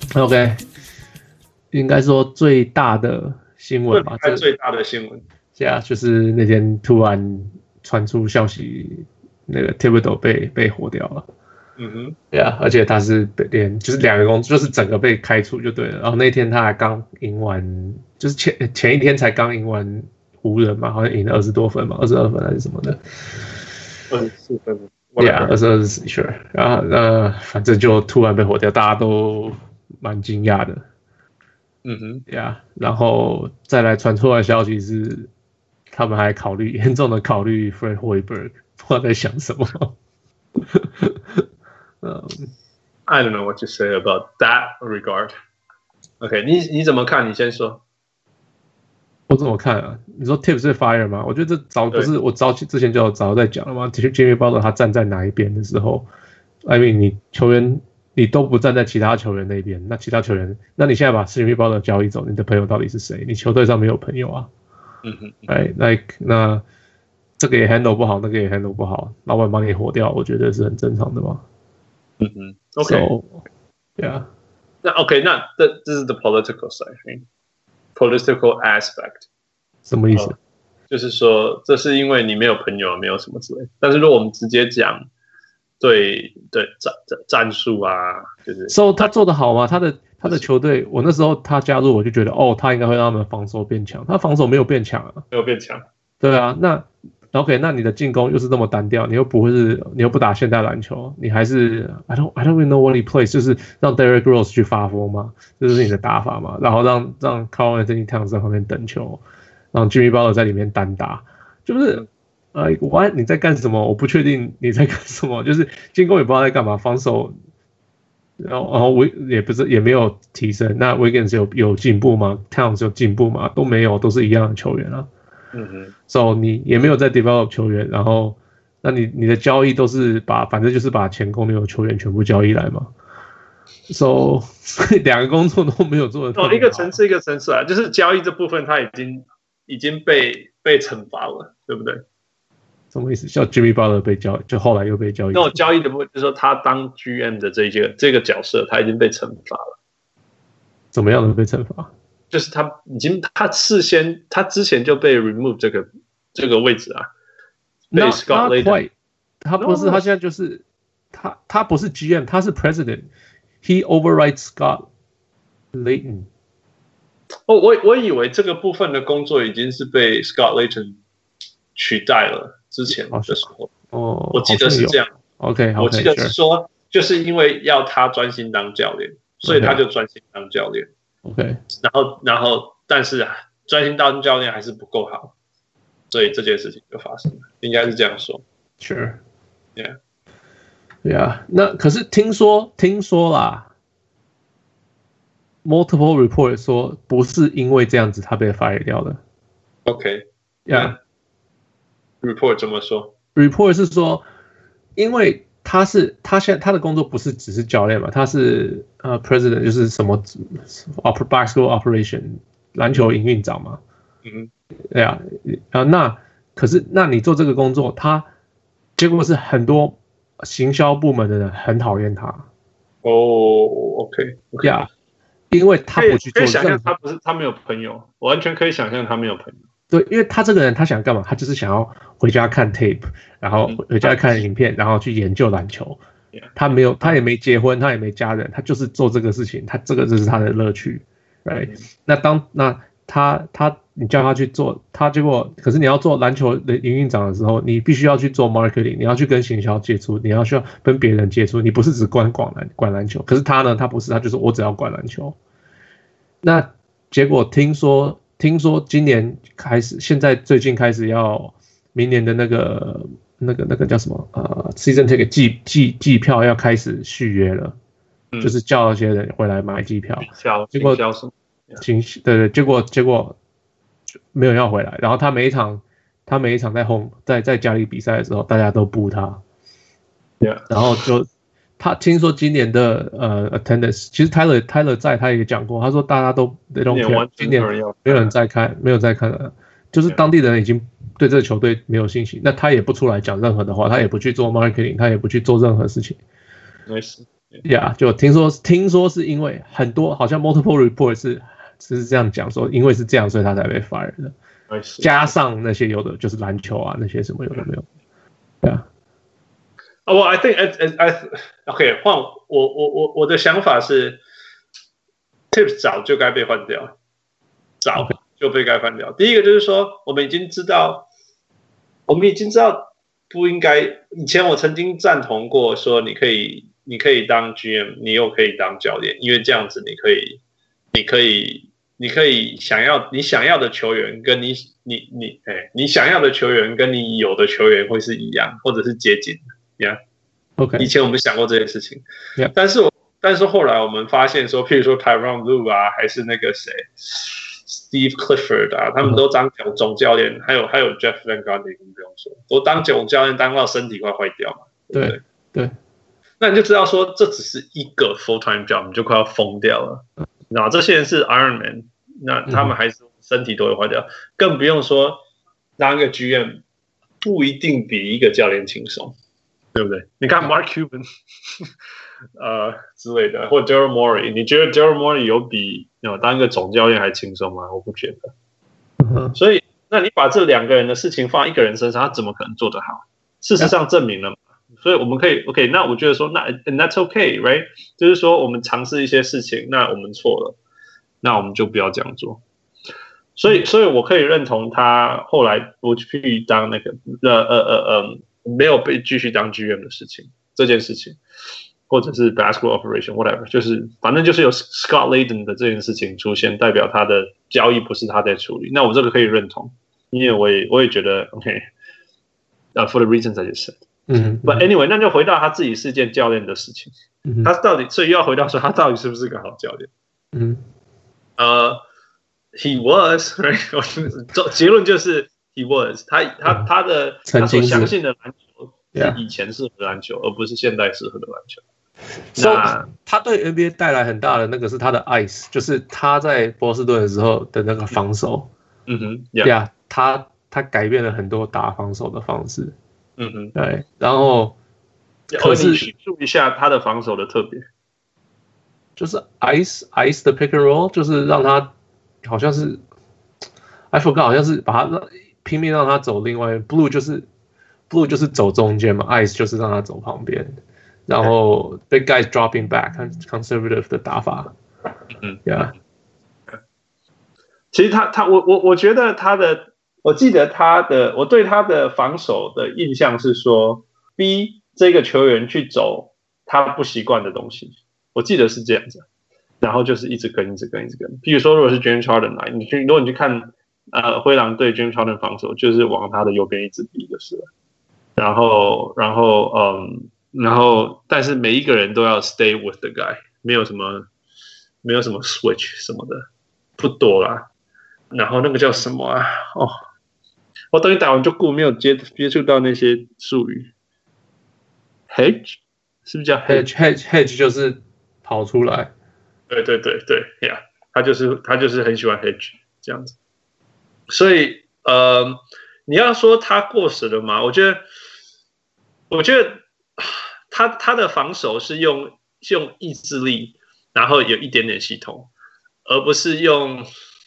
OK， 應該說最大的新聞吧， 最大的新聞， 就是那天突然傳出消息，那個 Thibodeau 被火掉了。而且他是就是2個工作，就是整個被開除就对了。然後那天他還剛贏完，就是前一天才剛贏完湖人嘛，好像贏了20多分嘛，22分還是什麼的，24分。22是 sure， 然後反正就突然被火掉，大家都蠻驚訝的。然後再來傳出來的消息是，他們還嚴重的考慮 Fred Hoiberg， 不知道在想什麼。 I don't know what to say about that regard. OK， 你怎麼看？你先說。 我怎麼看啊？你說 Tibbs 是 fire 嗎？我覺得這早不是我之前就早在講了嗎？其實 Jimmy Butler 他站在哪一邊的時候 ，I mean 你球員你都不站在其他球員那邊，那其他球员，那你现在把 Jimmy Butler 交易走，你的朋友到底是誰？你球隊上沒有朋友啊。那這個也 handle 不好，那個也 handle 不好，老闆把你火掉，我覺得是很正常的嘛。 OK， yeah， 那 OK， 那這是 the political side，political aspect， 什麼意思？ 就是說，這是因為你沒有朋友，沒有什麼之類。但是如果我們直接講對戰術啊，就是 ，so 他做得好嗎？他的球隊，我那時候他加入，我就覺得他應該會讓他們防守變強。他防守沒有變強啊， 沒有變強。 對啊，那 OK， 那你的進攻又是這麼單調，你又不打現代籃球，你還是 I don't even know what he plays， 就是讓 Derrick Rose 去發瘋嘛，這就是你的打法嘛，然後讓 Karl-Anthony Towns 在旁邊等球，讓 Jimmy Butler 在裡面單打，就是你在幹什麼？我不確定你在幹什麼，就是進攻也不知道在幹嘛，防守，然後也沒有提升，那 Wiggins 有進步嗎 ？Towns 有進步嗎？都沒有，都是一樣的球員啊。So 你也没有在 develop 球员，然後那你的交易都是反正就是把前公牛球員全部交易來嘛。So 2個工作都沒有做的。 一個層次一個層次啊，就是交易這部分他已經被懲罰了，對不對？ 什麼意思？像 Jimmy Butler 就後來又被交易。 那交易的部分就是說他當 GM 的這個角色，他已經被懲罰了。 怎麼樣的被懲罰？ 就是他之前就被 remove 這個位置啊，被 Scott Layton。 他不是，他現在就是他不是 GM， 他是 President。He overrides Scott Layton。 我以為這個部分的工作已經是被 Scott Layton 取代了，之前的時候。我記得是這樣。 OK， 我記得是說，就是因為要他專心當教練，所以他就專心當教練。 OK， 然後，但是專心當教練還是不夠好，所以這件事情就發生了，應該是這樣說。 Sure，yeah， 那可是聽說啦 ，multiple report 說不是因為這樣子他被 fire 掉的。 OK，yeah，report 怎麼說 ？report 是說，因為他現在他的工作不是只是教練嘛，他是president 就是什麼 basketball operation 籃球營運長嘛，對啊，那可是那你做這個工作，結果是很多行銷部門的人很討厭他。 OK， 因為他不去做， 可以想象他沒有朋友，完全可以想象他沒有朋友。 对，因为他這個人他想幹嘛？他就是想要回家看 tape， 然後回家看影片，然後去研究籃球。他也沒結婚，他也沒家人，他就是做這個事情，這個就是他的樂趣。Right？你叫他去做，可是你要做籃球的營運長的時候，你必須要去做 marketing， 你要去跟行銷接觸，你需要跟別人接觸，你不是只管籃球。可是他呢，他不是，他就是我只要管籃球。那結果聽說今年開始，最近開始要明年的那個叫什麼season ticket 季票要開始續約了，就是叫那些人回來買季票。結果對，結果沒有要回來。然後他每一場在家裡比賽的時候，大家都不他。然後他聽說今年的attendance， 其實 Tyler 在他也講過，他說大家都 they don't care， 今年沒有人在看了，就是當地人已經對這個球隊沒有信心，那他也不出來講任何的話，他也不去做 marketing， 他也不去做任何事情。 Yeah， 就聽說是因為很多好像 multiple report 是這樣講說，因為是這樣，所以他才被 fire 的。加上那些有的就是籃球啊，那些什麼有的沒有。Yeah. Well, I think OK， 換我的想法是 ，Tips 早就該被換掉，早就被該換掉。第一個就是說，我們已經知道不應該。以前我曾經贊同過說，你可以當 GM， 你又可以當教練，因為這樣子你可以想要的球員跟你想要的球員跟你有的球員會是一樣，或者是接近的。Yeah. OK， 以前我們想過這件事情， yeah. 但是後來我們發現說，譬如說 Tyronn Lue 啊，還是那個誰 Steve Clifford 啊，他們都當總教練，還有 Jeff Van Gundy 更不用說，都當總教練當到身體快壞掉嘛，對不對？ 對， 那你就知道說，這只是一個 full time job， 你就快要瘋掉了。那這些人是 Iron Man， 那他們還是身體都會壞掉，更不用說當一個 GM 不一定比一個教練輕鬆。對不对？你看 Mark Cuban 之類的，或者 Daryl Morey， 你覺得 Daryl Morey 有比當一個總教練還輕鬆嗎？我不覺得。所以，那你把這兩個人的事情放在一個人身上，他怎麼可能做得好？事實上證明了嘛。所以我們可以 OK， 那我覺得說，那 that's OK，right？ 就是說，我們嘗試一些事情，那我們錯了，那我們就不要這樣做。所以我可以認同他後來不去當那個沒有被繼續當 GM 的事情，這件事情，或者是 basketball operation whatever， 就是反正就是有 Scott Layden 的這件事情出現，代表他的交易不是他在處理。那我這個可以認同，因為我也覺得 OK，for the reasons I just said。But anyway， 那就回到他自己是件教練的事情，他到底所以又要回到說他到底是不是個好教練？He was， right？ 結論就是。He was， 他所相信的籃球是以前適合的籃球，而不是現在適合的籃球。 那他對 NBA 帶來很大的那個是他的 ice， 就是他在波士頓的時候的那個防守。Yeah， 他改變了很多打防守的方式。對，然後可是叙述一下他的防守的特別， 就是 ice 的 pick and roll， 就是讓他好像是 I forgot， 好像是把他拼命讓他走另外 blue 就是走中間嘛 ，ice 就是讓他走旁邊，然後 big guys dropping back conservative 的打法。Yeah。 其實我覺得我記得我對他的防守的印象是說，逼這個球員去走他不習慣的東西，我記得是這樣子，然後就是一直跟。譬如說，如果是 James Harden 來，如果你去看。灰狼對 James Harden 防守就是往他的右邊一直逼就是了，然后，但是每一個人都要 stay with the guy， 沒有什麼 switch 什麼的，不多啦。然後那個叫什麼啊？我等你打完就過，沒有接觸到那些術語。Hedge 是不是叫 hedge 就是跑出來。 對 ，Yeah， 他就是很喜歡 hedge 這樣子。所以你要說他過時了嗎？我覺得他的防守是用意志力，然後有一點點系統，而不是用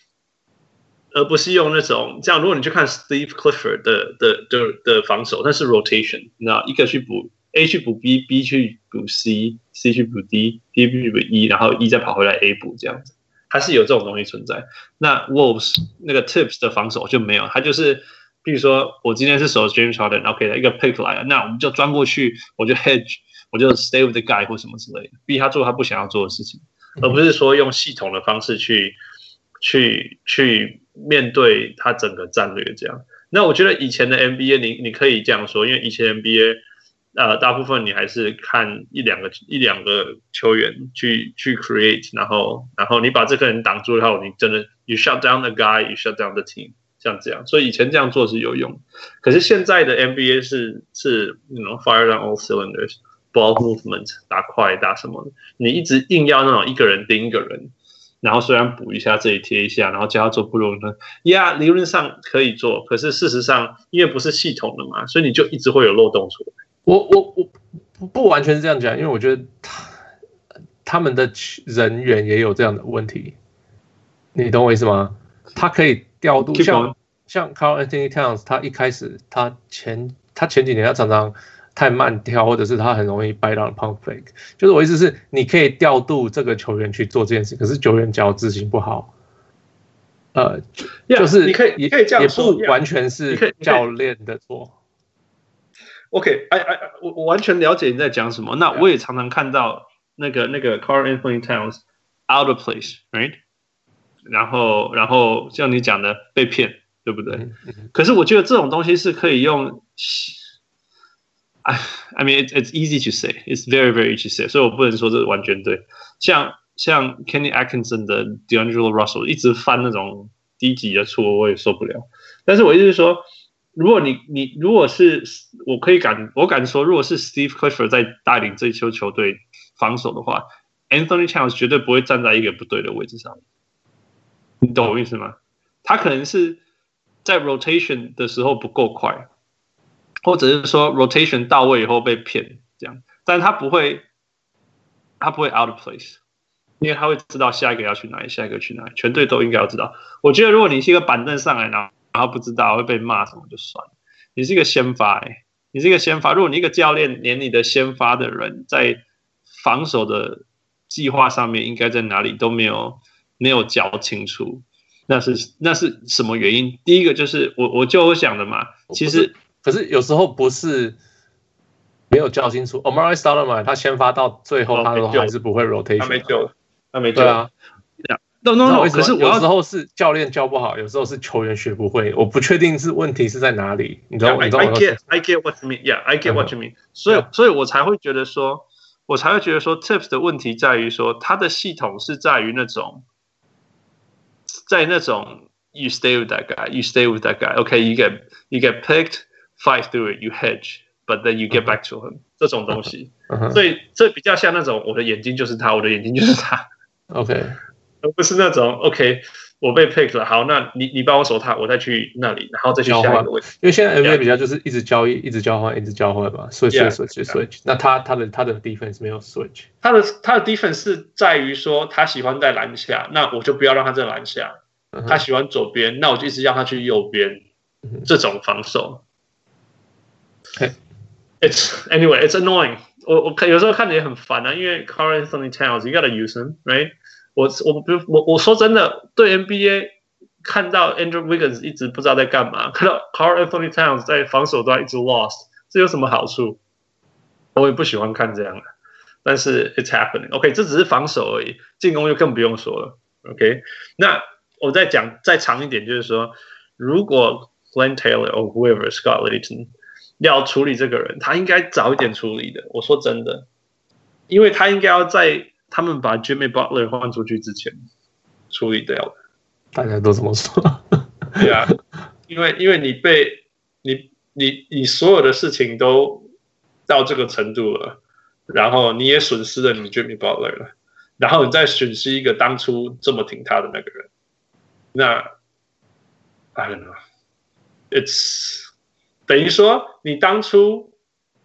那種這樣。如果你去看 Steve Clifford 的防守，那是 rotation， 那一個去補 A 去補 B 去補 C 去補 D 去補 E， 然後 E 再跑回來 A 補這樣子。還是有這種東西存在。那 Wolves 那個 Tips 的防守就沒有，他就是，比如說我今天是守 James Harden，OK， 一個 pick 來了，那我們就鑽過去，我就 hedge， 我就 stay with the guy 或什麼之類的，逼他做他不想要做的事情，而不是說用系統的方式去面對他整個戰略這樣。那我覺得以前的 NBA 你可以這樣說，因為以前 NBA。大部分你還是看一兩個球員去 create， 然後你把這個人擋住以後，你真的 you shut down the guy， you shut down the team， 像這樣。所以以前這樣做是有用，可是現在的 NBA 是fire on all cylinders，ball movement 打快打什麼的，你一直硬要那種一個人盯一個人，然後雖然補一下這裡貼一下，然後叫他做不容易，yeah， 理論上可以做，可是事實上因為不是系統的嘛，所以你就一直會有漏洞出來。 我不完全是這樣講，因為我覺得他們的人員也有這樣的問題，你懂我意思嗎？他可以調度，像 Karl Anthony Towns， 他一開始他前幾年他常常太慢跳，或者是他很容易 bite on pump fake。就是我意思是，你可以調度這個球員去做這件事，可是球員只要執行不好，就是你可以這樣說， 也不完全是教練的錯。 OK， 我完全了解你在講什麼。那我也常常看到那個 Karl Anthony Towns out of place，right？ 然後像你講的被騙，對不對？可是我覺得這種東西是可以用。I mean, it's easy to say. It's very, very easy to say. 所以我不能說這完全對。像 Kenny Atkinson 的 D'Angelo Russell 一直犯那種低級的錯，我也受不了。但是我意思是說，如果是我敢說，如果是 Steve Clifford 在帶領這一支球隊防守的話 ，Anthony Towns 絕對不會站在一個不對的位置上。你懂我意思嗎？他可能是在 rotation 的时候不夠快。或者是說 rotation 到位以後被騙這樣，但他不會 out of place， 因為他會知道下一個要去哪裡，下一個去哪裡，全隊都應該要知道。我覺得如果你是一個板凳上來，然後不知道會被罵什麼就算了。你是一個先發，你是一個先發。如果你一個教練連你的先發的人在防守的計劃上面應該在哪裡都沒有教清楚，那是什麼原因？第一個就是我就想的嘛，其實。 可是有時候不是沒有教清楚 ，Amar'e Stoudemire 他先發到最後，他都還是不會 rotation， 他沒救了，他沒救了。 對啊，No， 可是有時候是教練教不好，有時候是球員學不會，我不確定是問題是在哪裡。你知道我 I get what you mean. Yeah, I get what you mean. 所以我才會覺得說 ，Tips 的問題在於說，他的系統是在於那種 you stay with that guy, you stay with that guy. Okay, you get picked.Fight through it, you hedge, but then you get back to him. 這種東西，所以這比較像那種我的眼睛就是他，我的眼睛就是他。 OK， 而不是那種 OK， 我被 pick 了，好，那你幫我守他，我再去那裡，然後再去下一個位置。 因為現在 NBA 比較就是一直交易，一直交換，一直交換嘛 ，switch。那他的 defense 沒有 switch， 他的 defense 是在於說他喜歡在籃下，那我就不要讓他在籃下。他喜歡左邊，那我就一直讓他去右邊。這種防守。It's annoying. 我有時候看着也很煩啊，因為 Karl Anthony Towns, you gotta use him, right? 我說真的，對 NBA 看到 Andrew Wiggins 一直不知道在幹嘛，看到 Karl Anthony Towns 在防守端一直 lost， 這有什麼好處？我也不喜歡看這樣的，但是 it's happening. OK， 這只是防守而已，進攻就更不用說了。OK， 那我再講再長一點，就是說，如果 Glenn Taylor or whoever Scott Littleton要處理這個人，他應該早一點處理的。我說真的，因為他應該要在他們把 Jimmy Butler 換出去之前處理掉的。 大家都這麼說。 對啊，因為你所有的事情都到這個程度了，然後你也損失了你 Jimmy Butler 了，然後你再損失一個當初這麼挺他的那個人，那 I don't know， it's 等於說你當初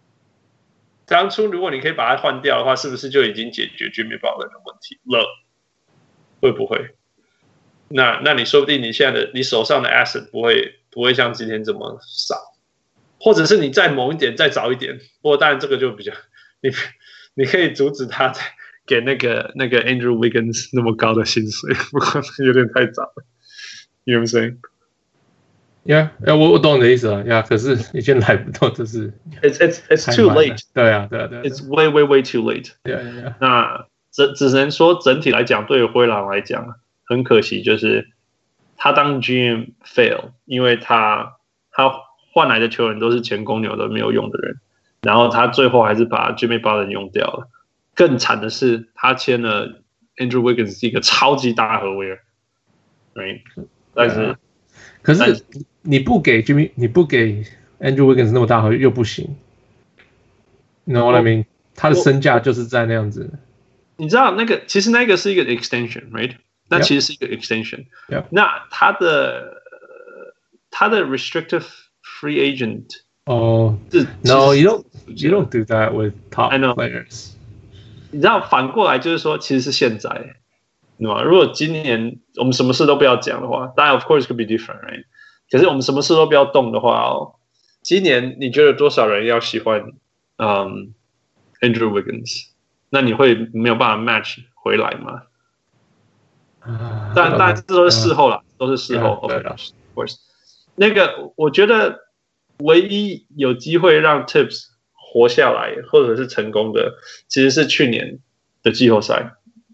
如果你可以把它換掉的話，是不是就已經解決 Jimmy Butler 的問題了？會不會？那你說不定你現在你手上的 asset 不會像今天這麼少，或者是你再猛一點再早一點。不過當然這個就比較你可以阻止他給那個 Andrew Wiggins 那麼高的薪水，不過有點太早了。You know what I'm saying？Yeah， 我懂你的意思了。Yeah， 可是已經來不到，就是 It's too late。对啊。It's way too late。Yeah。那只能說整體來講，對於灰狼來講，很可惜，就是他當 GM fail， 因為他換來的球員都是前公牛的沒有用的人，然後他最後還是把 Jimmy Butler 用掉了。更慘的是，他簽了 Andrew Wiggins 一個超級大合約，right？ 但是， 可是你不給 Andrew Wiggins 那麼大合約又不行。You know what I mean？ 他的身價就是在那樣子。 你知道其實那個是一個 extension，right？ 那其實是一個 extension。那他的 restricted free agent。 Oh, no, you don't do that with top players. 你知道反過來就是說，其實是現在，對吧？如果今年我們什麼事都不要講的話，當然 of course could be different, right？ 可是我們什麼事都不要動的話哦，今年你覺得多少人要喜歡Andrew Wiggins？ 那你会沒有辦法 match 回來嗎？但這都是事後啦，都是事後。Of course，那個我覺得唯一有機會讓 Tibbs 活下來或者是成功的，其實是去年的季後賽。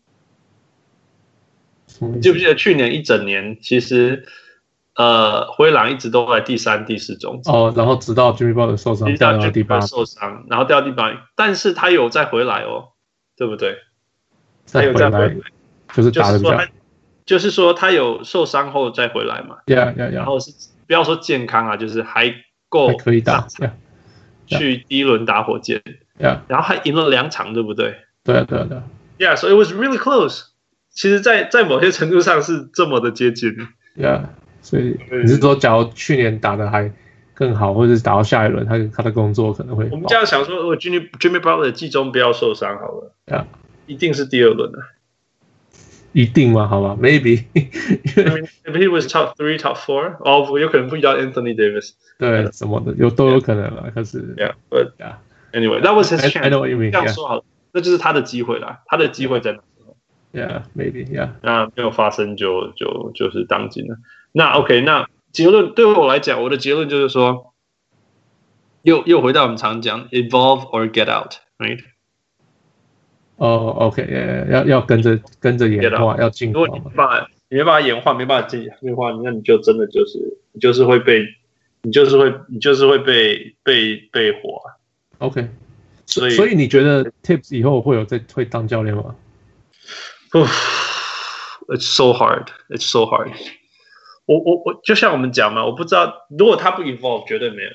你記不記得去年一整年，其實灰狼一直都在第3、第4種子。 然後直到 Jimmy Butler 受傷，掉到第8， 受傷，然后掉到第8，但是他有再回来哦，对不对？ 他有再回来，就是打得比較。 就是說他有受傷後再回来嘛，然後是不要說健康啊，就是還夠可以打， 去第一輪打火箭，然後還贏了2場，對不對？ 對。 Yeah, so it was really close. 其實在某些程度上是這麼的接近。 Yeah, 所以你是說，假如去年打得還更好，或者是打到下一輪，他的工作可能會。 我們這樣想說，如果 Jimmy Butler 季中不要受傷好了，一定是第2輪的。 一定嗎？好吧 ，maybe Maybe he was top 3, top 4， 哦，有可能不遇到 Anthony Davis， 对，什麼的都有可能了。可是 ，but anyway, that was his chance. I know what you mean. 這樣說好了，那就是他的機會啦，他的機會在哪時候 ？Yeah, maybe, yeah. 那沒有發生就是當今了。那 OK， 那結論對我來講，我的結論就是說，又回到我們常講 evolve or get out, right？ OK， 要跟着演化，要進化。 如果你沒辦法演化，沒辦法进化，那你就真的就是会被火啊。 OK， 所以你覺得 Tibbs 以後會當教練嗎 ？It's so hard. It's so hard. 我就像我們講嘛，我不知道如果他不 evolve， 絕對沒有。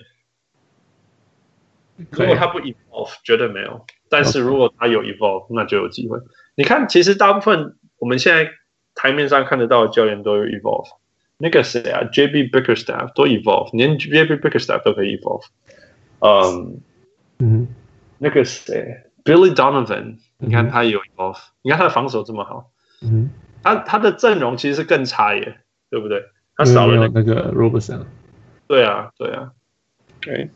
如果他不 evolve， 絕對沒有。但是如果他有 evolve， 那就有機會。你看，其實大部分我們現在台面上看得到的教練都有 evolve。那個誰啊 ，JB Bickerstaff 都 evolve， 連 JB Bickerstaff 都可以 evolve。那個誰 ，Billy Donovan， 你看他也有 evolve， 你看他的防守這麼好，他的陣容其實是更差耶，對不對？他少了那個 Robertson。對啊。 Okay.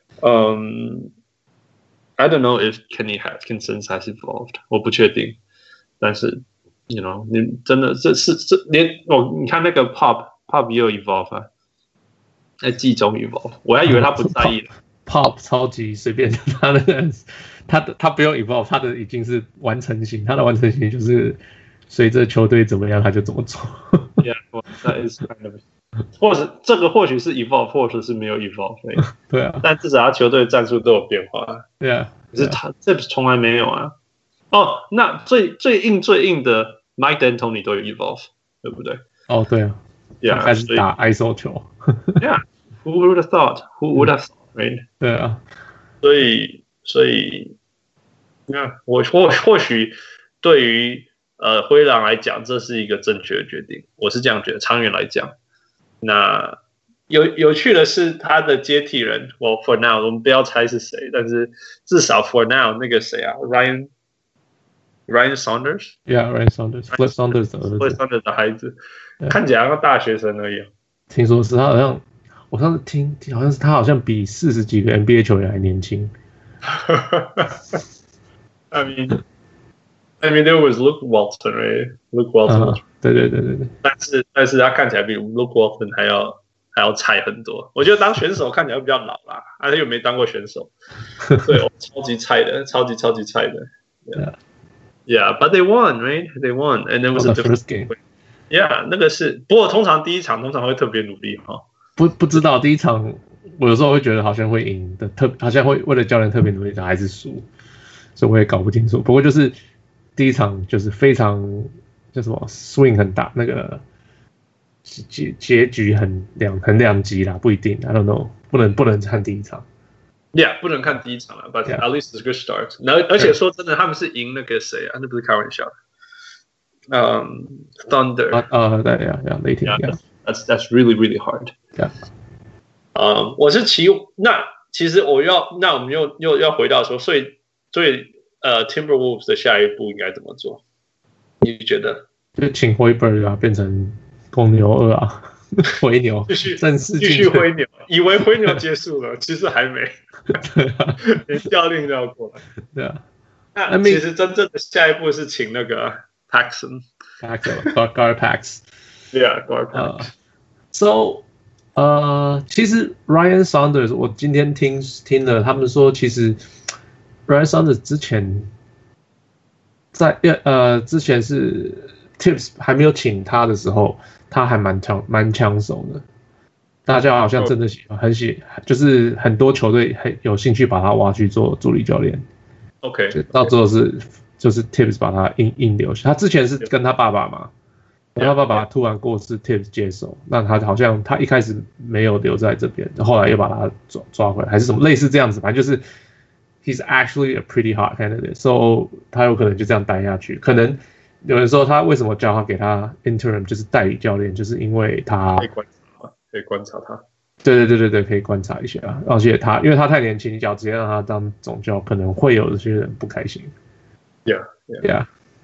I don't know if Kenny Atkinson has evolved， 我不確定，但是 you know， 你真的連你看那個 Pop 也有 evolve 啊，在季中 evolve， 我還以為他不在意了。 Pop 超級隨便，他不用 evolve， 他的已經是完成型，他的完成型就是隨着球隊怎麼樣他就怎麼做。 Yeah, that is kind of。或者這個或許是 evolve， 或者是沒有 evolve， 對啊， 但至少他球隊戰術都有變化， 對啊， 可是他這從來沒有啊。那最硬的 Mike D'Antoni 都有 evolve， 對不對？ 對啊，開始打 ISO 球 ，Yeah，who would have thought？ Who would have thought？Right？ 對啊， 所以，我或許對於灰狼來講，這是一個正確的決定，我是這樣覺得，長遠來講。那有趣的是他的接替人，Well for now 我們不要猜是誰，但是至少 for now 那個誰啊 Ryan Saunders，Ryan Saunders，Flip Saunders 的兒子 ，Flip Saunders 的孩子，看起來像大學生而已。 聽說是他好像，我上次聽好像是他好像比40幾個 NBA 球員還年輕。 I mean there was Luke Walton, right? Luke Walton. 对。 但是他看起來比 Luke Walton 還要菜很多。我覺得當選手看起来會比較老啦，他又沒當過選手，對，超級菜的，超級菜的。Yeah, but they won, right? They won, and it was a different game. Yeah, 那個是，不過通常第一場通常會特別努力哈。不知道第一場，我有時候會覺得好像會贏的，好像會為了教練特別努力的還是輸，所以我也搞不清楚。不過就是第一場就是非常。叫什麼 swing 很大，那個結局很兩極啦，不一定 ，I don't know， 不能看第一場 ，Yeah， 不能看第一場了 ，But at least it's a good start。而且說真的，他們是贏那個誰啊？那不是開玩笑的，Thunder， yeah，雷霆 ，That's really hard。我是那其實那我們又要回到說，所以 Timberwolves 的下一步應該怎麼做？你覺得？ 就請灰 bird 啊，變成公牛2啊，灰牛正式繼續灰牛，以為灰牛結束了，其實還沒。 對啊， 連教練都要過來。 對啊， 那其實真正的下一步是請那個 Paxson，Gar Pax。Yeah，Gar Pax。 其實 Ryan Saunders， 我今天聽了他們說，其實 Ryan Saunders 之前之前是 Tips 還沒有請他的時候，他還蠻搶手的。大家好像真的就是很多球隊很有興趣把他挖去做助理教練。 OK， 到最后就是 Tips 把他硬留下。他之前是跟他爸爸嘛，他爸爸突然過世 ，Tips 接手，那他好像他一開始沒有留在這邊，後來又把他抓回來，還是什麼類似這樣子，反正就是 he's actually a pretty hot candidate，so 他有可能就這樣待下去。可能有人說他為什麼叫他給他 interim 就是代理教練，就是因為他可以觀察他， 对，可以觀察一下。而且因為他太年輕，你只要直接讓他當總教，可能會有些人不開心。Yeah，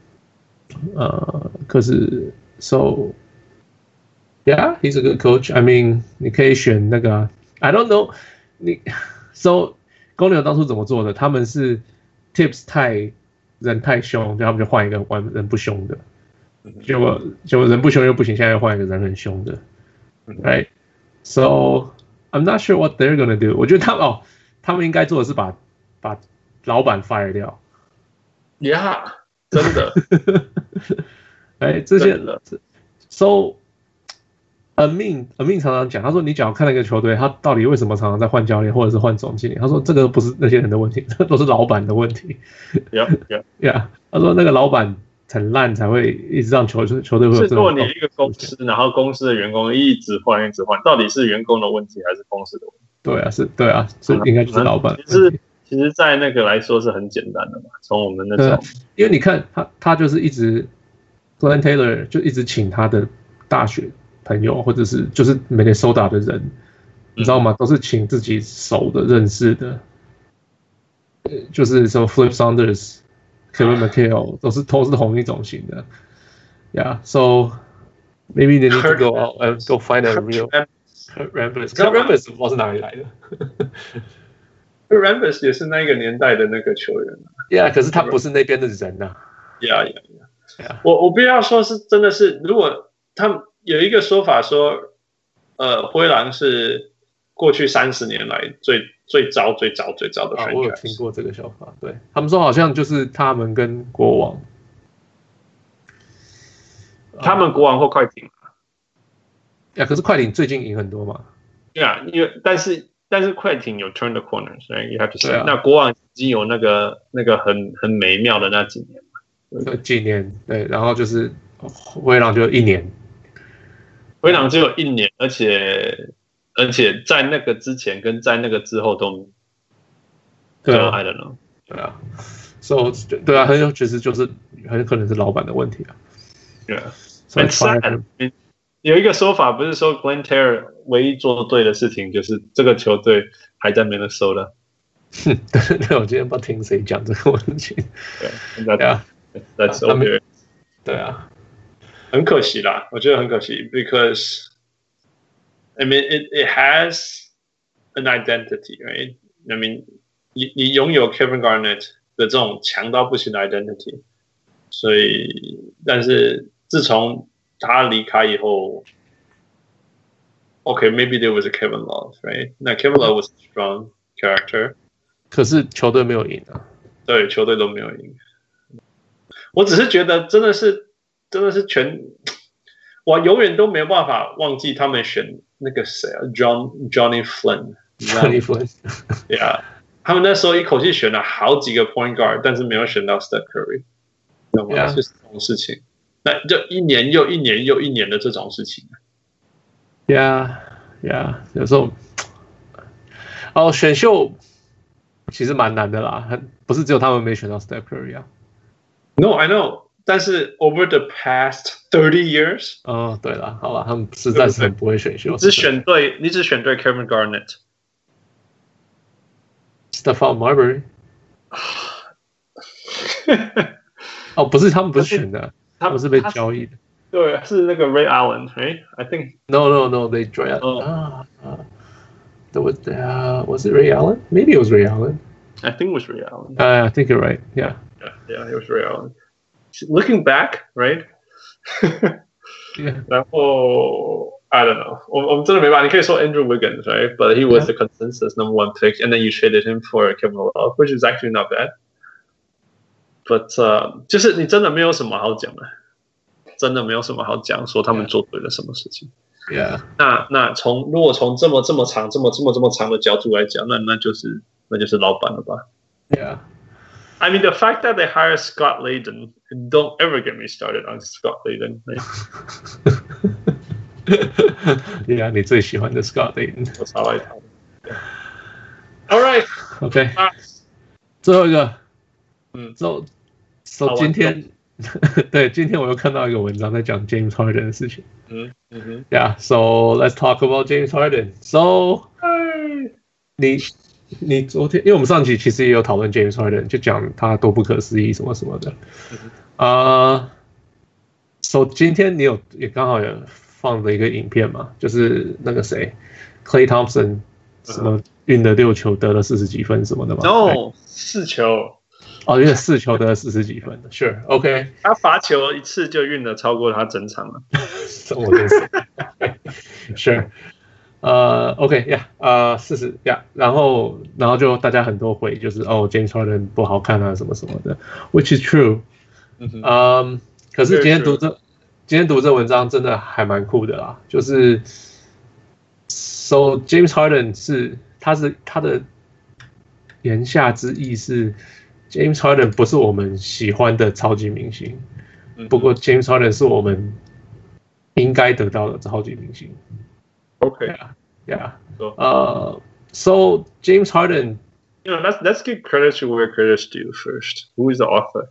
可是 so yeah， he's a good coach. I mean， 你可以選那個 I don't know， so 公牛當初怎麼做的？他們是 Tips 人太兇，就他們就換一個人不兇的，結果人不兇又不行，現在又換一個人很兇的。Right, so I'm not sure what they're gonna do. 我覺得他們應該做的是把老闆 fire 掉。 Yeah， 真的。 哎，這些 ，so Amin 常常講，他說你只要看那個球隊，他到底為什麼常常在換教練或者是換總經理？他說這個不是那些人的問題，這都是老闆的問題。Yeah， 他說那個老闆很爛才會一直讓球隊會有這種。 是如果你一個公司，然後公司的員工一直換，到底是員工的問題還是公司的問題？對啊，所以應該就是老闆。其實，在那個來說是很簡單的嘛。從我們那種， 因為你看他就是一直 Glenn Taylor 就一直請他的大學朋友或者是就是 Minnesota 的人，你知道嗎？都是請自己熟的、認識的，就是什麼 Flip Saunders、Kevin McHale 都是同一種型的。Yeah, so maybe they need to go out and go find a real Kurt Rambis。Kurt Rambis 不知道是哪裡來的。 Kurt Rambis 也是那個年代的那個球員。 Yeah， 可是他不是那邊的人吶。 Yeah。我必須要說是真的是，如果他們有一個說法說，灰狼是過去30年來最糟的 franchise。 我有聽過這個說法，對，他們說好像就是他們跟國王， 他們國王或快艇可是快艇最近贏很多嘛。 因為但是快艇有 turn the corner， 所以 you have to say，那國王已經有那個很美妙的那幾年嘛， 幾年對，然後就是灰狼就1年， 灰狼只有1年，而且在那個之前跟在那個之後都I don't know， 對啊 ，so 對啊，其實就是很可能是老闆的問題啊。 對啊，很 sad。有一個說法不是說 Glenn Taylor 唯一做對的事情就是這個球隊還在 Minnesota。 對，我今天不知道聽誰講這個問題。 對啊 ，That's okay。 對啊， 很可惜啦，我覺得很可惜 ，because I mean it has an identity, right? I mean 你擁有 Kevin Garnett 的這種強到不行的 identity， 所以但是自從他離開以後 ，OK, maybe there was a Kevin Love, right? 那 Kevin Love was a strong character， 可是球隊沒有贏啊。 對，球隊都沒有贏。我只是覺得真的是我永遠都沒有辦法忘記他們選那個誰啊 ，Johnny Flynn。Johnny Flynn，yeah， 他們那時候一口氣選了好幾個 point guard， 但是沒有選到 Steph Curry， 懂嗎？就是這種事情。那就一年又一年又一年的這種事情。 Yeah， 有時候，選秀其實蠻難的啦，不是只有他們沒選到 Steph Curry 啊。 No, I know， 但是 over the past 30 years， 對啦，好啦，他們實在是很不會選秀。 你只選對 Kevin Garnett。 Stephon Marbury。 哦，不是，他們不是選的，他們是被交易的。 对，是那個 Ray Allen， right? I think. No, they draft. Was it Ray Allen? Maybe it was Ray Allen. I think it was Ray Allen. I think you're right. Yeah, it was Ray Allen. Looking back, right? Yeah. 然後 I don't know. 我們真的沒辦法。你可以說 Andrew Wiggins, right? But he was the consensus number one pick, and then you traded him for Kevin Love, which is actually not bad. But 就是你真的沒有什麼好講的。真的沒有什麼好講，說他們做對了什麼事情。 Yeah. 那如果從這麼長的角度來講，那就是老闆了吧 ？Yeah. I mean the fact that they hire Scott Layden, don't ever get me started on Scott Layden. Yeah, 你最喜歡的 Scott Layden。 我超愛他。All right. OK. 最後一個。So 今天。对，今天我又看到一個文章在講 James Harden 的事情。Yeah, so let's talk about James Harden. So, 你昨天，因為我們上集其實也有討論 James Harden， 就講他多不可思議什麼什麼的。So 今天你也剛好有放了一個影片嘛，就是那個誰 ，Klay Thompson 什麼運了6球得了40幾分什麼的嘛。 No， 4球。 哦，因為4球得了40幾分的 ，Sure, OK。 他罰球一次就運了超過他整場了。 我真是 ，Sure。OK，Yeah，40 ，Yeah， 然後就大家很多回就是James Harden 不好看啊什麼什麼的 ，Which is true。可是今天讀這文章真的還蠻酷的啦，就是 So James Harden 他的言下之意是。James Harden 不是我們喜歡的超級明星，不過 James Harden 是我們應該得到的超級明星。 Okay, yeah. So James Harden, let's give credit to where credit's due first. Who is the author?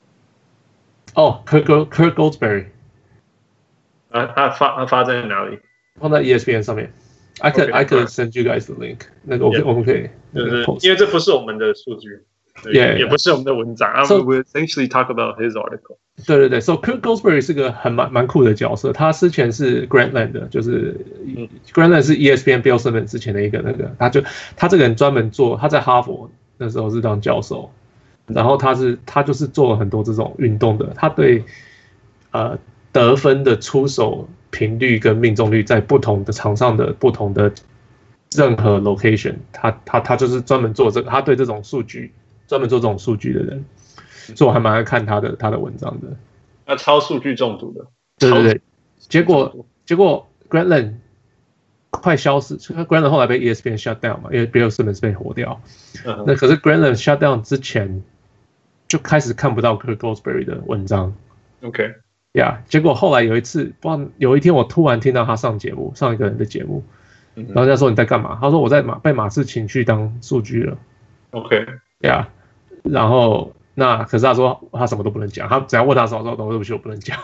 Kirk Goldsberry. 他發在哪裡？ 放在 ESPN 上面。I could send you guys the link. 那個我們可以， 因為這不是我們的數據。也不是我們的文章。So we essentially talk about his article. 對。 So Kirk Goldsberry 是個蠻酷的角色。他之前是 Grantland 的，就是 Grantland 是 ESPN Bill Simmons 之前的一個那個。他這個人專門做，他在哈佛那時候是當教授，然後他就是做了很多這種運動的。他對得分的出手頻率跟命中率在不同的場上的不同的任何 location， 他就是專門做這個。他對這種數據。專門做這種數據的人，所以我還蠻愛看他的文章的。 他超數據中毒的。 對。結果 Grantland 快消失 ，Grantland 後來被 ESPN shut down 嘛，因為 Bill Simmons 被火掉。那可是 Grantland shut down 之前就開始看不到 Kirk Goldsberry 的文章。 OK。 Yeah， 結果後來有一天我突然聽到他上一個人的節目，然後人家說你在幹嘛？他說我被馬刺請去當數據了。 OK。Yeah。 然後可是他說他什麼都不能講，他只要問他什麼說對不起我不能講，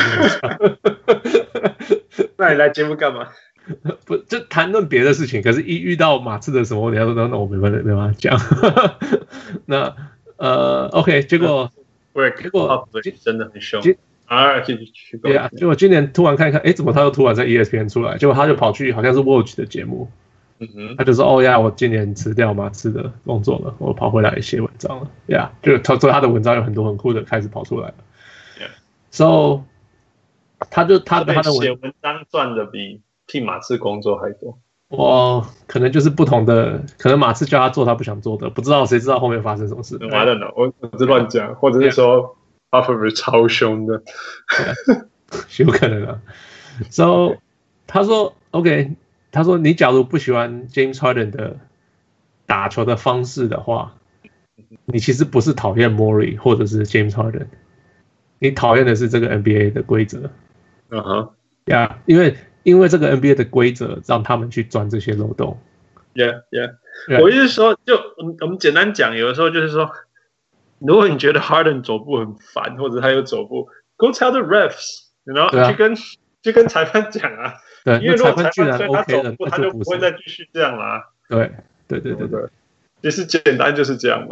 那你來節目幹嘛？ 不就談論別的事情，可是一遇到馬刺的什麼，你要說那我沒辦法講。那OK， 結果真的很凶結果今年突然看一看，怎麼他又突然在 ESPN 出來？結果他就跑去好像是 Watch 的節目。他就說我今年辭掉馬刺的工作了，我跑回來寫文章了。就他的文章有很多很酷的開始跑出來了。So 他的寫文章賺的比替馬刺工作還多。可能就是不同的，可能馬刺叫他做他不想做的，不知道誰知道後面發生什麼事。 I don't know， 我是亂講，或者是說 Popovich 超凶的， 有可能啊。So 他說 OK。他說：“你假如不喜歡 James Harden 的打球的方式的話，你其實不是討厭 Morey 或者是 James Harden， 你討厭的是這個 NBA 的規則。因為這個 NBA 的規則讓他們去鑽這些漏洞。 我意思是說，就我們簡單講，有的時候就是說，如果你覺得 Harden 走步很煩，或者他有走步 ，Go tell the refs， 然後去跟裁判講啊。” 對， 因為如果裁判居然 OK 了， 他就不會再繼續這樣啦。 對， 其實簡單就是這樣嘛。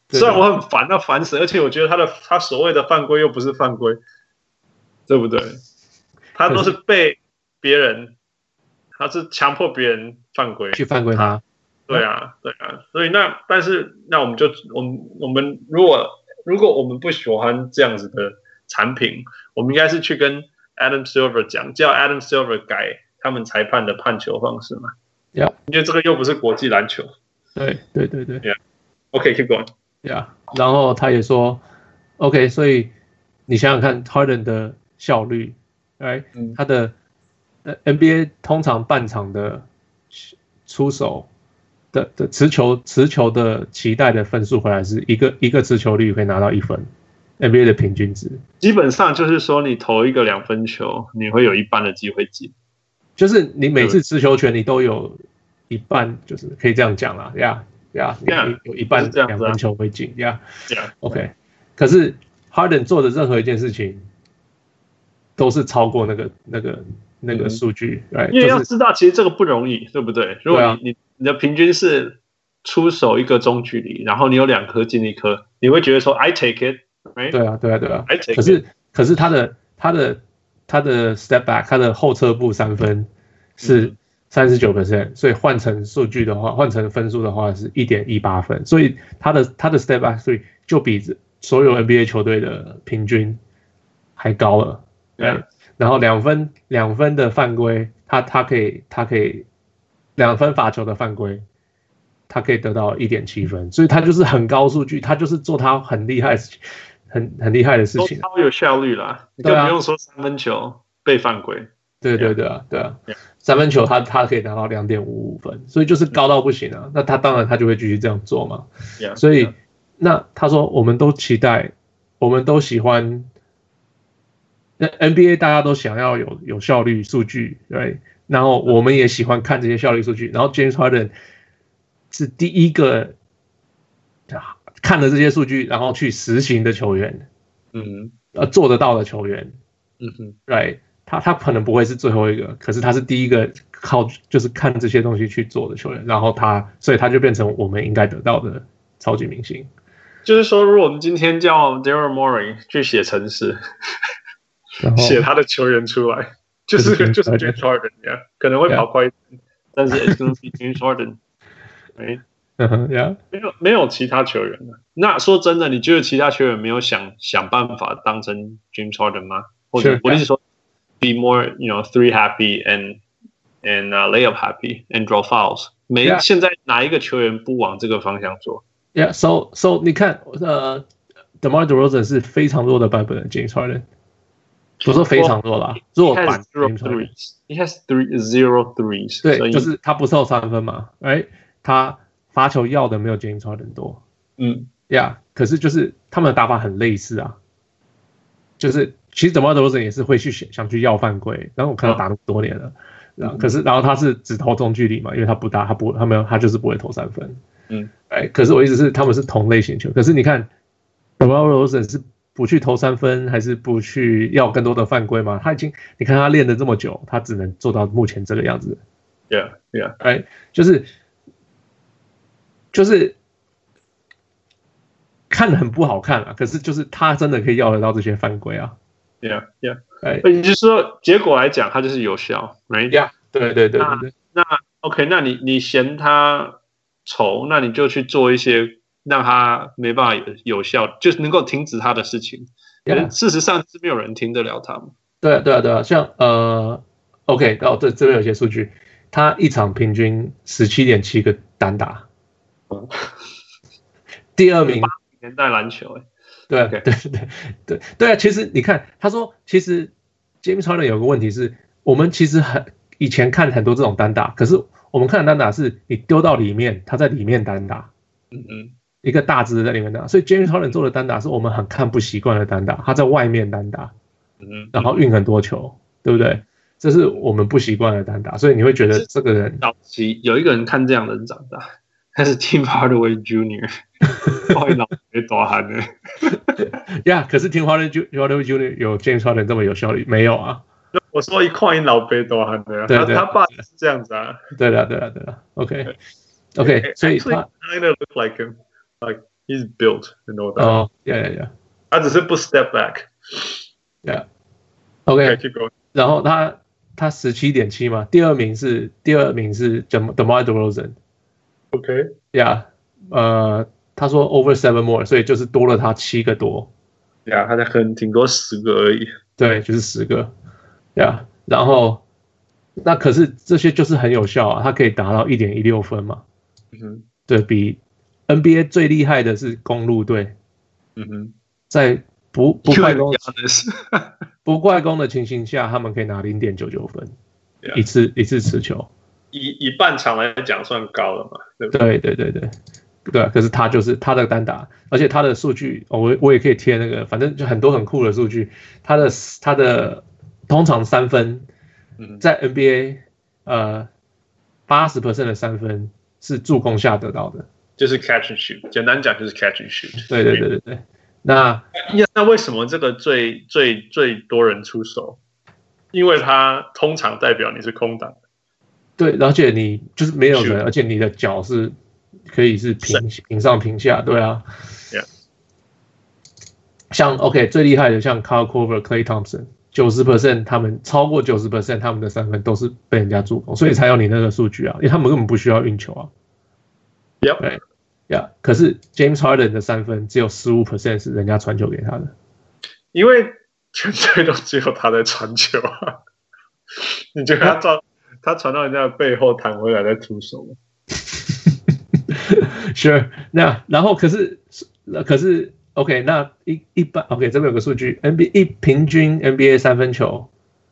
雖然我很煩，那煩死，而且我覺得他所謂的犯規又不是犯規，對不對？他都是被別人，他是強迫別人犯規， 去犯規他。 對啊，所以但是我們如果我們不喜歡這樣子的產品，我們應該是去跟 Adam Silver 講，叫 Adam Silver 改他們裁判的判球方式嘛。 Yeah. 因為這個又不是國際籃球。 對。 Yeah.OK, keep going. Yeah. 然後他也說 ，OK， 所以你想想看 ，Harden 的效率，哎，他的NBA 通常半场的出手的持球的期待的分數回來是一個持球率可以拿到1分 ，NBA 的平均值。 基本上就是說，你投一個2分球，你會有一半的機會進。 就是你每次持球權你都有一半，就是可以這樣講啦，Yeah，你有一半2分球會進 ，Yeah，OK。可是 Harden 做的任何一件事情都是超過那個數據， 因為要知道，其實這個不容易，對不對？如果你的平均是出手一個中距離，然後你有2顆進1顆，你會覺得說 I take it，right？ 對啊。可是他的 step back， 他的後撤步3分是39%，所以換成数据的話，換成分數的話是 1.18 分，所以他的 step back 所以就比所有 NBA 球隊的平均還高了。 Yeah. 然後2分的犯規，他可以2分罰球的犯規，他可以得到 1.7 分，所以他就是很高數據，他就是做他很厲害很厲害的事情， 都超有效率啦，你更不用說3分球被犯規。 對啊，3分球他可以拿到 2.55 分，所以就是高到不行啊。那他当然他就會繼續這樣做嘛。所以那他說我們都期待，我們都喜歡。那 NBA 大家都想要有效率數據，對，然後我們也喜歡看這些效率數據。然後 James Harden 是第一個看了這些數據，然後去實行的球員，做得到的球員，對，他可能不會是最後一個，可是他是第一個就是看這些東西去做的球員，然後所以他就變成我們應該得到的超級明星。 就是說，如果我們今天叫 Daryl Morey 去寫程式。寫他的球員出來，就是 James Harden， 可能會跑快一點，但是 it's gonna be James Harden， 沒有其他球員了。那說真的，你覺得其他球員沒有想辦法當成 James Harden 嗎？或者我是說 ，be more three happy and layup happy and draw fouls。現在哪一個球員不往這個方向做 ？So 你看DeMar DeRozan 是非常弱的版本的 James Harden。不是非常弱啦，弱版。 He has 0 threes。 對，就是他不受3分嘛，他罰球要的沒有 James Harden 多。可是就是他們的打法很類似啊，就是其實 DeMar DeRozan 也是會想去要犯規，然後我看他打那麼多年了，然後他是只投中距離嘛，因為他不大，他就是不會投3分。可是我意思是他們是同類型球，可是你看 DeMar DeRozan 是。不去投3分，還是不去要更多的犯規嗎？你看他練了這麼久，他只能做到目前這個樣子。 Yeah， 就是看得很不好看啊。可是就是他真的可以要得到這些犯規啊。 Yeah，也就是說結果來講，他就是有效 ，right？ 對。 那 OK， 那你嫌他醜，那你就去做一些。讓他沒辦法有效，就是能夠停止他的事情。事實上是沒有人停得了他們。 對啊，像OK， 這邊有些數據，他一場平均 17.7 個單打，第2名。 年代籃球對啊，其實你看，他說其實 James Harden 有個問題是，我們其實以前看很多這種單打，可是我們看的單打是你丟到裡面，他在裡面單打。一個大隻在裡面打，所以 James Harden 做的單打是我們很看不習慣的單打，他在外面單打，然後運很多球，對不對？這是我們不習慣的單打，所以你會覺得這個人早期有一個人看這樣的人長大，他是 Tim Hardaway Jr.， 老被大漢的。 可是 Tim Hardaway Jr. 有 James Harden 這麼有效率沒有啊？ 我說一看因老被大漢的，他爸是這樣子啊。 對了 ，OK， 所以他 kind of look like him。Like he's built no doubt。 哦 ，yeah， 他只是不 step back。Yeah，OK，keep going。 然後他17.7嘛，第二名是 DeMar DeRozan。OK，yeah，他說 over 7 more， 所以就是多了他7個多。 Yeah， 他才挺多10個而已。 對，就是10個。Yeah， 然後那可是這些就是很有效啊，他可以達到 1.16 分嘛。對，比 NBA 最厲害的是公鹿隊。在不快攻的情形下，他們可以拿 0.99 分，一次持球。 以半場來講算高了嘛，對不對？對，可是他就是他的單打，而且他的數據，我也可以貼那個，反正就很多很酷的數据。他的通常3分，在 NBA 80% 的3分是助攻下得到的， 就是 catch and shoot。简單講就是 catch and shoot。 對。那為什麼這個最多人出手？因為它通常代表你是空檔。對， 而且你就是沒有人，而且你的腳是可以是平上平下，對啊。 Yeah. 像 OK 最厲害的像 Kyle Korver、Klay Thompson，90% 他們超過90%他們的3分都是被人家助攻，所以才有你那個數據啊，因為他們根本不需要運球啊。 Yep。 Yeah， 可是 James Harden 的3分只有 15% 是人家傳球給他的， 因為全隊都只有他在傳球啊。你覺得他傳到人家的背後彈回來再出手嗎 ？Sure， 然後可是 OK， 那一般 OK 這邊有個數據 ，NBA 平均 NBA 3分球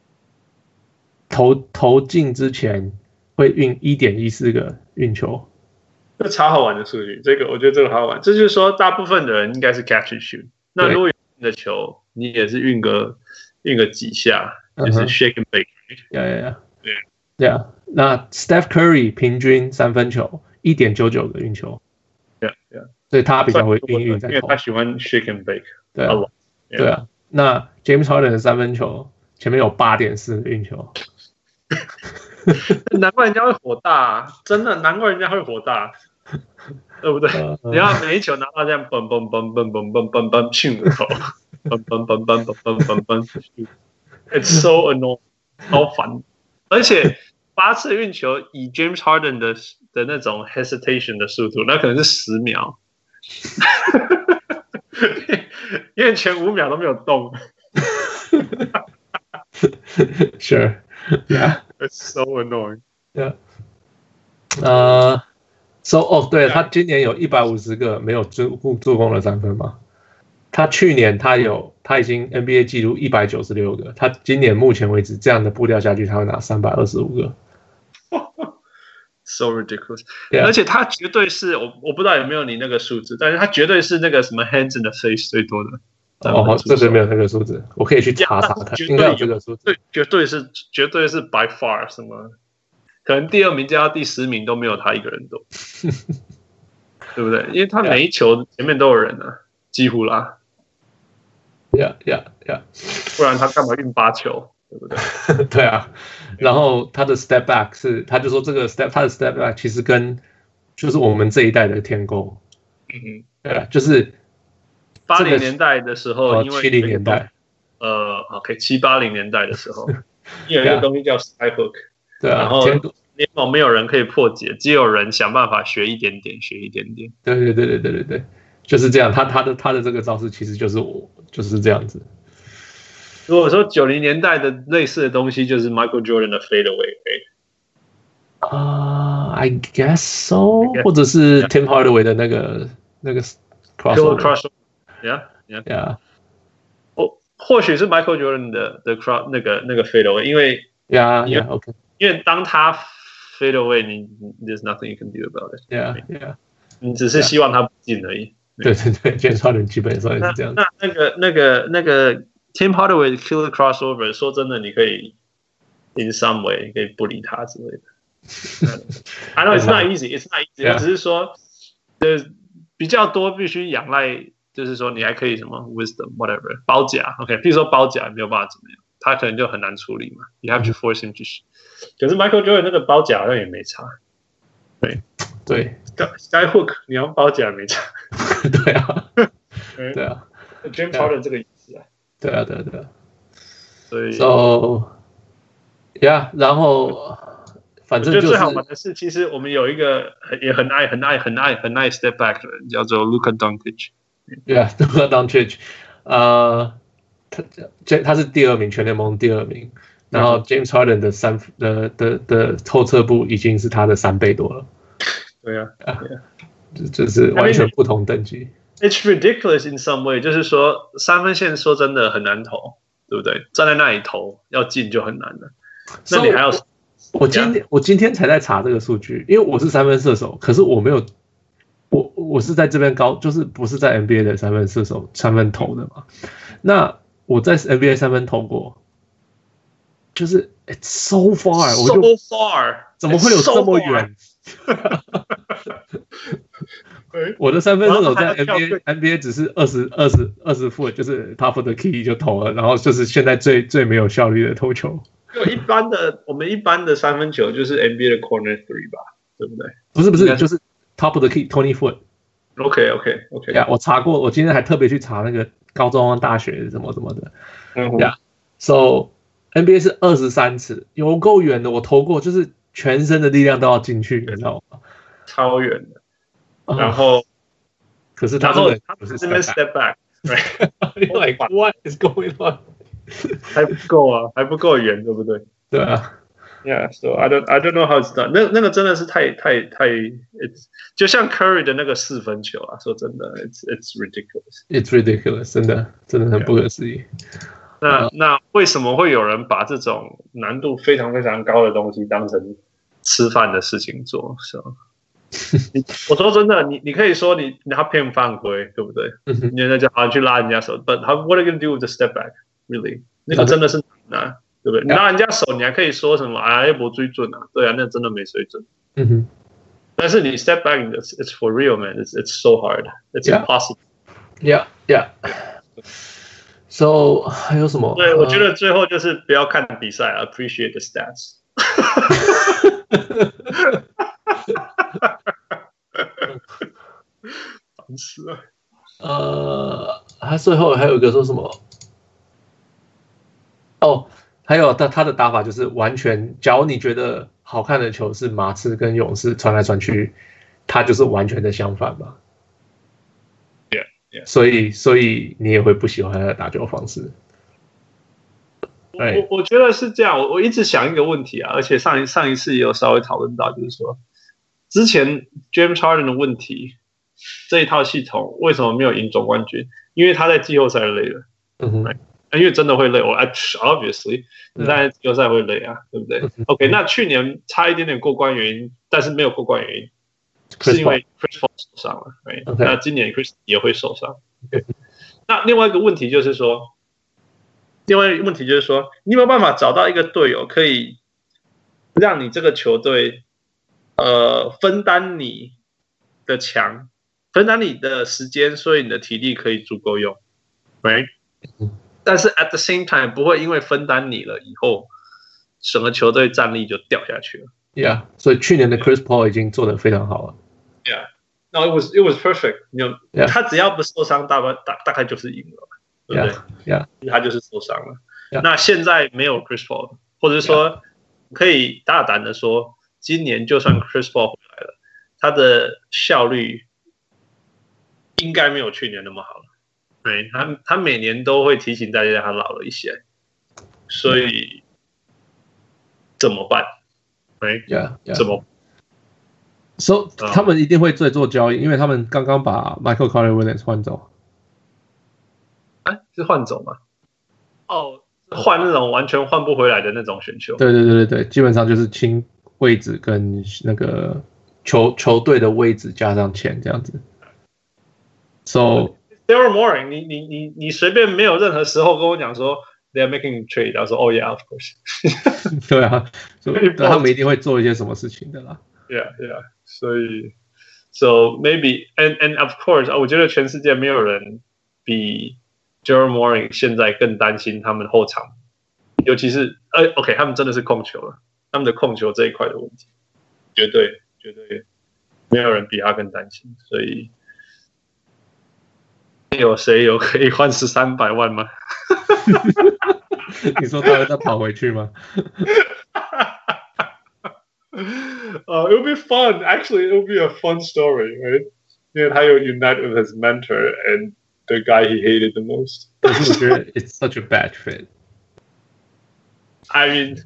投進之前會運 1.14 個運球。 這超好玩的數據，這個我覺得這個好好玩。這就是說，大部分的人應該是 catch and shoot。那如果你的球，你也是運個幾下，就是 shake and bake。 Yeah。那 Steph Curry 平均3分球 1.99 個運球。 Yeah。 所以他比較會運在投， 因為他喜歡 shake and bake。 對啊。那 James Harden 的3分球前面有 8.4 個運球。 難怪人家會火大啊，真的難怪人家會火大。對不對？你要每一球拿到這樣蹦蹦蹦蹦蹦蹦蹦蹦進球，蹦蹦蹦蹦蹦蹦蹦蹦 ，It's so annoying， 超煩。而且8次運球以 James Harden 的那種 hesitation 的速度，那可能是10秒，因為前5秒都沒有動。 Sure， yeah，It's so annoying。 Yeah，对了，他今年有150個沒有助攻的3分嘛？他去年他已經 NBA 紀錄196個，他今年目前為止這樣的步調下去，他會拿325個。 So ridiculous！、Yeah. 而且他絕對是我不知道有沒有你那個數字，但是他絕對是那個什麼 hands in the face 最多的。 這邊沒有那個數字，我可以去查查看，應該有這個數字。 絕對是 by far 什麼？可能第2名加到第10名都沒有他一個人多，對不对？因為他每一球前面都有人啊，幾乎啦。 Yeah， 不然他幹嘛運8球，對不對？ 對啊。然後他的 step back 他就說他的 step back 其實跟就是我們這一代的天勾。對啊，就是 80年代的時候，因為 70年代 ，OK，70、80年代的時候，有一個東西叫 sky hook。 对啊， 然後聯盟沒有人可以破解，只有人想辦法學一點點。 對，就是這樣。他的這個招式其實就是這樣子。 如果說90年代的類似的東西，就是 Michael Jordan 的 fadeaway。 I guess so， 或者是 Tim Hardaway 的那個 crossover。Yeah。 或許是 Michael Jordan 的那個 fadeaway， 因為 OK。 因為當他 fade away， there's nothing you can do about it。 Yeah。 你只是希望他不進而已。 對，James Harden 基本上也是這樣。 那個 Tim Hardaway 的 killer crossover， 說真的，你可以 in some way 可以不理他之類的。I know it's not easy， 我只是說，比較多必須仰賴，就是說你還可以什麼 wisdom whatever 包夾 ，OK， 比如說包夾沒有辦法怎麼樣，他可能就很難處理嘛。You have to force him to shoot。可是 Michael Jordan 那個包夾好像也沒差。對 ，Sky hook 你要包夾沒差。 對啊，对啊 ，James Harden 这個意思啊。 对啊。 所以 ，yeah， 然後反正就是我觉得最好玩的是，其實我們有一個也很愛 step back 的人，叫做 Luka Doncic。Yeah，Luka Doncic，他是第2名，全聯盟第2名。然後 James Harden 的後撤步已經是他的3倍多了。 對啊， 就是完全不同等級。 It's ridiculous in some way， 就是說3分線說真的很難投，對不對？站在那裡投要進就很難了。那你還要我今天才在查這個數據，因為我是3分射手，可是我沒有我是在這邊就是不是在 NBA 的3分射手3分投的嘛。那我在 NBA 3分投過。就是 it's so far， so far， 怎麼會有這麼遠？我的3分射手在 NBA 只是20 foot， 就是 top of the key 就投了，然後就是現在最沒有效率的投球。 我們一般的3分球就是 NBA 的 corner three 吧，對不對？ 不是，就是 top of the key 20 foot。OK。Yeah， 我查過，我今天還特別去查那個高中、大學什麼的。Yeah，so。NBA 是23尺，有夠遠的，我投過，就是全身的力量都要進去，你知道嗎？ 超遠的。然後， 可是他不是 step back，like what is going on？ 還不夠啊，還不夠遠，對不對？ 對啊。 Yeah，so I don't know how it's done。那個真的是太，就像 Curry 的那個4分球啊，說真的 ，it's ridiculous。It's ridiculous， 真的很不可思議。 那為什麼會有人把這種難度非常非常高的東西當成吃飯的事情做？我說真的，你可以說他騙犯規，對不對？你那就好像去拉人家手 ，But what are you gonna do with the step back? Really？ 那個真的是難啊，對不對？你拉人家手，你還可以說什麼？哎，沒水準啊，對啊，那真的沒水準。但是你 step back， it's for real, man. It's so hard. It's impossible. So 還有什麼？ 對，我覺得最後就是不要看比賽 ，appreciate the stats。煩死了。 他最後還有一個說什麼？還有他的打法就是完全，假如你覺得好看的球是馬刺跟勇士傳來傳去，他就是完全的相反嘛。所以你也會不喜歡他的打球方式。 我覺得是這樣。我一直想一個問題啊，而且上一次也有稍微討論到，就是說之前 James Harden 的問題，這一套系統為什麼沒有贏總冠軍？因為他在季後賽累了。因為真的會累。Obviously 你在季後賽會累啊，對不對？OK， 那去年差一點點過關原因，但是沒有過關原因。是因為 Chris Paul 受傷了，那今年 Chris 也會受傷。那另外一個問題就是說，你有沒有辦法找到一個隊友，可以讓你這個球隊分擔你的強，分擔你的時間，所以你的體力可以足夠用，但是 at the same time 不會因為分擔你了以後，整個球隊戰力就掉下去了。 Yeah， 所以去年的 Chris Paul 已經做得非常好了。 Yeah，no it was perfect。他只要不受傷，大概就是贏了，對不對？他就是受傷了。那現在沒有 Chris Paul， 或者說可以大膽的說，今年就算 Chris Paul 回來了，他的效率應該沒有去年那麼好了。他每年都會提醒大家他老了一些，所以怎麼辦？怎麼 ？So 他們一定會再做交易，因為他們剛剛把 Michael Carter Williams 換走。 是換走嗎？換那種完全換不回來的那種選秀。 對，基本上就是清位置跟那個球隊的位置加上錢這樣子。 So。Daryl Morey， 你隨便沒有任何時候跟我講說 they are making a trade， 然後說yeah of course。 對啊，他們一定會做一些什麼事情的啦。 Yeah， 所以 so maybe and of course， 我覺得全世界沒有人比 Daryl Morey 現在更擔心他們後場，尤其是OK， 他們真的是控球了，他們的控球這一塊的問題，絕對沒有人比他更擔心，所以。 有誰有可以換1300萬嗎？ 你說他会再跑回去嗎 ？It would be fun. Actually, it would be a fun story, right? 因为他有 unite with his mentor and the guy he hated the most. 可是我覺得 it's such a bad fit. I mean,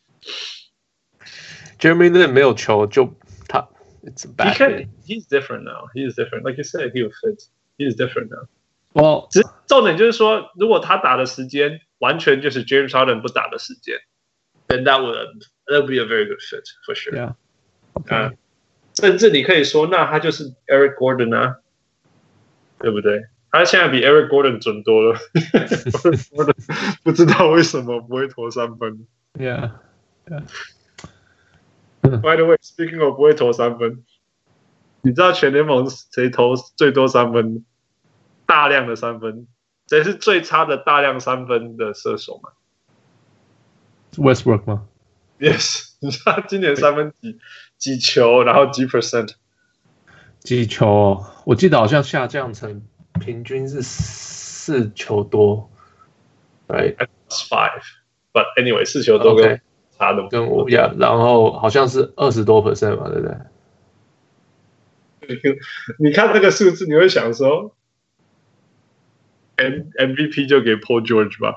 Jeremy Lin 沒有球就他 it's a bad fit. He's different now. He's different. Like you said, he will fit. He's different now. Well, 只是重點就是說，如果他打的時間完全就是 James Harden 不打的時間 then that would be a very good fit for sure. Yeah. Okay. 甚至你可以說，那他就是 Eric Gordon 啊，對不對？他現在比 Eric Gordon 準多了。不知道為什麼不會投三分。 Yeah. Yeah. By the way, speaking of 不會投三分，你知道全聯盟誰投最多三分？大量的三分，誰是最差的大量三分的射手嗎 ？Westbrook 嗎 ？Yes， 你知道他今年三分幾球，然後幾 percent？ 幾球哦，我記得好像下降成平均是4球多。Right, that's 5. But anyway, 4球多跟差的跟5 yeah， 然後好像是20多%嘛，對不對？ 你看這個數字，你會想說。MVP 就給 Paul George 吧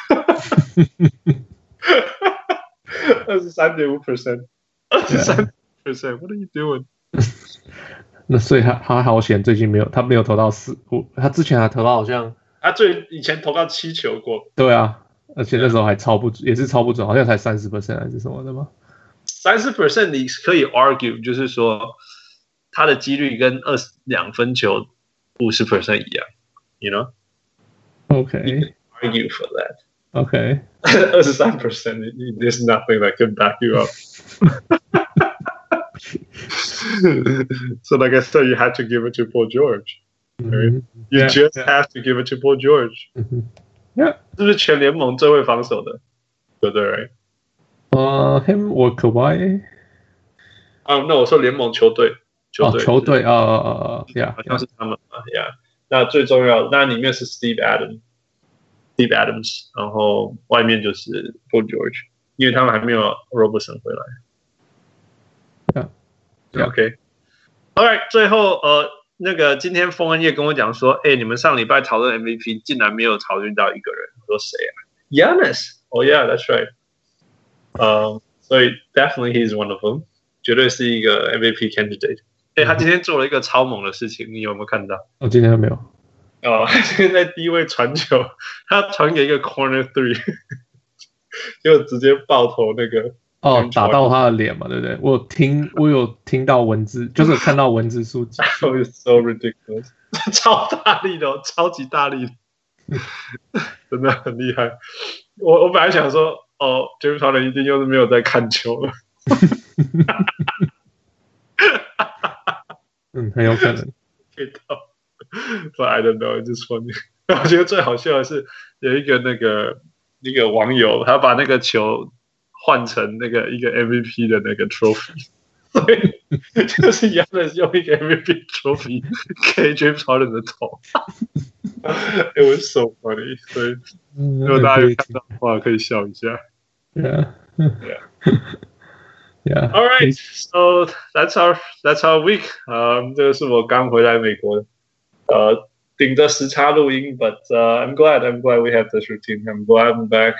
，23.5%， 23%，What are you doing？ 那所以他好險，最近他沒有投到4，他之前還投到好像他以前投到7球過。 對啊，而且那時候還也是超不準，好像才30% 還是什麼的嗎 ？30% 你可以 argue， 就是說他的幾率跟22分球50% 一樣 ，you know？Okay. You can argue for that. Okay. 23%, there's nothing that can back you up. So, like I said, you had to give it to Paul George. Right? You just have to give it to Paul George. Yeah. 是不是全聯盟最會防守的？對不對 ？Him or Kawhi？ 那我說聯盟球隊。 球隊 ，yeah， 好像是他們嘛 ，yeah。那最重要，那裡面是 Steve Adams， 然後外面就是 Paul George， 因為他們還沒有 Robertson 回來。OK，All right， 最後那個今天豐恩業跟我講說，你們上禮拜討論 MVP 竟然沒有討論到一個人，我說誰啊 ？Giannis，Oh yeah，that's right。所以 definitely he's one of them， 絕對是一個 MVP candidate。他今天做了一個超猛的事情，你有沒有看到？ 我今天還沒有。 他今天在低位傳球，他傳給一個 corner 3， 就直接爆頭那個。 打到他的臉嘛，對不對？我有聽到文字，就是看到文字數據。 That was so ridiculous， 超大力的，超級大力的，真的很厲害。我本來想說，James Harden 一定又是沒有在看球了。 很有可能。 But I don't know, it's just funny. 我覺得最好笑的是有一個那個網友，他把那個球換成那個一個 MVP 的那個 trophy， 所以就是一樣的用一個 MVP trophy 給 James Harden 的頭。It was so funny， 所以如果大家有看到的話，可以笑一下。 Yeah. Yeah. All right, so that's our week. 這個是我剛回來美國的，頂着時差錄音 ，but I'm glad we have this routine. I'm glad I'm back.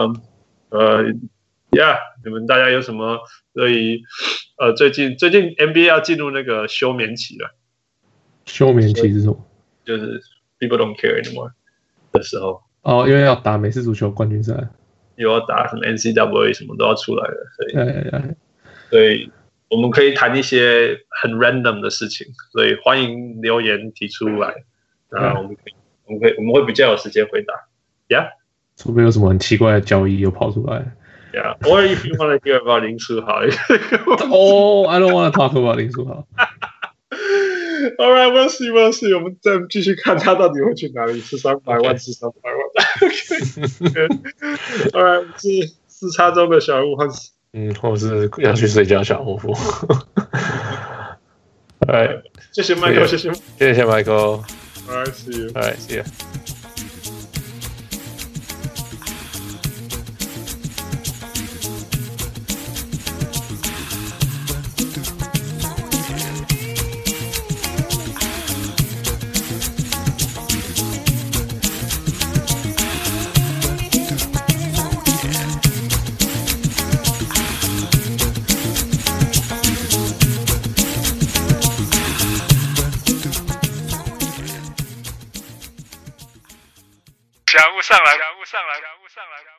Yeah， 你們大家有什麼對於最近 NBA 要進入那個休眠期了。 休眠期是什麼？ 就是 people don't care anymore 的時候。 因為要打美式足球冠軍賽， 又要打什麼 NCAA 什麼都要出來了，所以我們可以談一些很 random 的事情，所以歡迎留言提出來，然後我們會比較有時間回答。Yeah， 除非有什麼很奇怪的交易又跑出來。 Yeah, or if you want to hear about 林書豪。 I don't want to talk about 林書豪。 All right, we'll see. 我們再繼續看他到底會去哪裡，是300萬，是300萬。All right， 是時差中的小人物， 或是要去睡覺小人物。All right， 謝謝 Michael， 謝謝 Michael。 All right, see you. All right, see ya. 小人物上来。